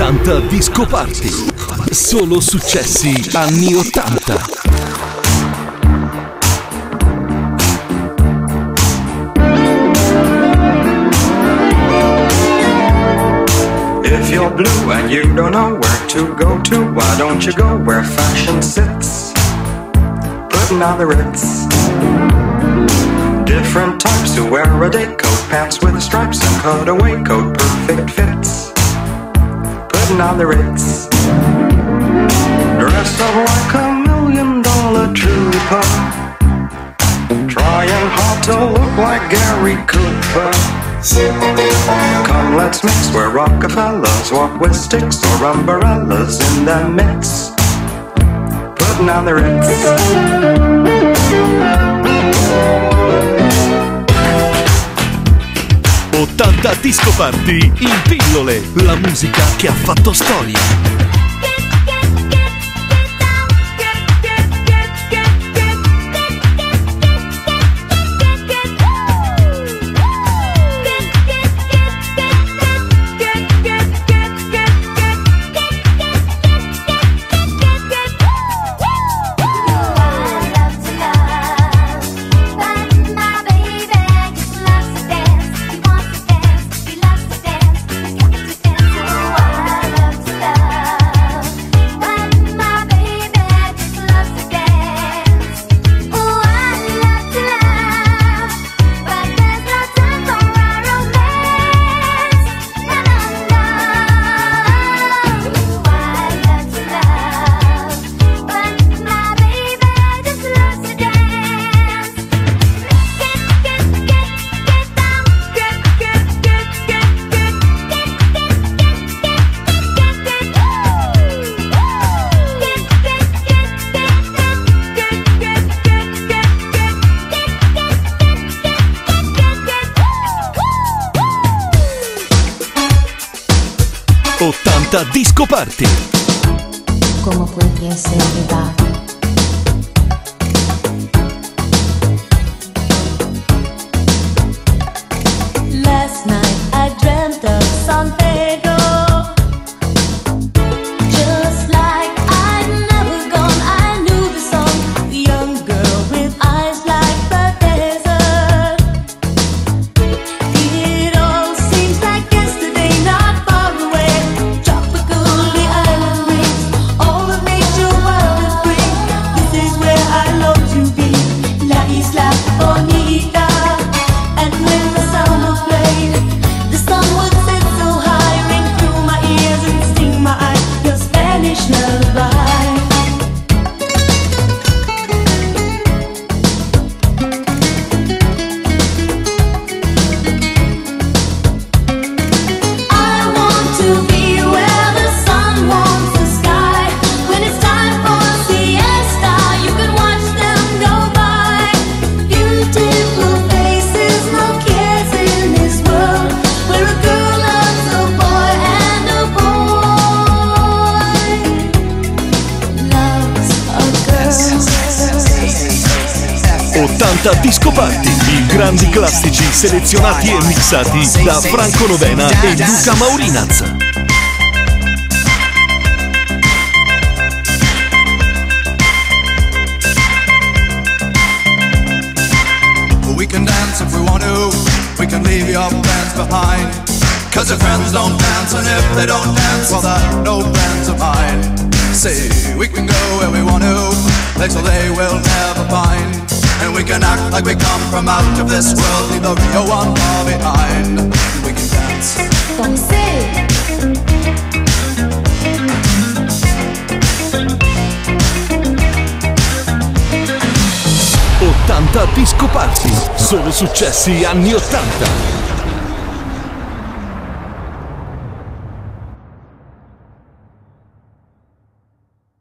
80 Disco Party. Solo successi anni 80. If you're blue and you don't know where to go to, why don't you go where fashion sits? Putting on the Ritz. Different types who wear a day coat, pants with stripes and cutaway coat, perfect fits. Putting on the Ritz. Dressed up like $1 million trooper, trying hard to look like Gary Cooper. Come, let's mix where Rockefellers walk with sticks or umbrellas in their midst. Putting on the Ritz. 80 Disco Party in pillole, la musica che ha fatto storia. Disco Party. ¿Cómo puede ser verdad? Last night I dreamt of San Pedro, just like I'd never gone. I knew the song, the young girl with eyes like the desert. It all seems like yesterday, not far away. Tropical, the island rings, all of nature wild and free. This is where I long to be, La Isla Bonita. And when the sound was played, the sun would sit so high, ring through my ears and sting my eyes, your Spanish lullaby. I want to be where the sun warms the sky. When it's time for siesta, you can watch them go by. Beautiful faces, no cares in this world, where a girl loves a boy and a boy loves a girl. 80 Disco Party, i grandi classici selezionati e mixati da Franco Novena e Luca Maurinaz. We can dance if we want to, we can leave your friends behind. Cause your friends don't dance, and if they don't dance, well they're no friends of mine. See, we can go where we want to, places they will never find. And we can act like we come from out of this world, leave the real one far behind. We can dance. Danser. 80 Disco Party, solo successi anni 80.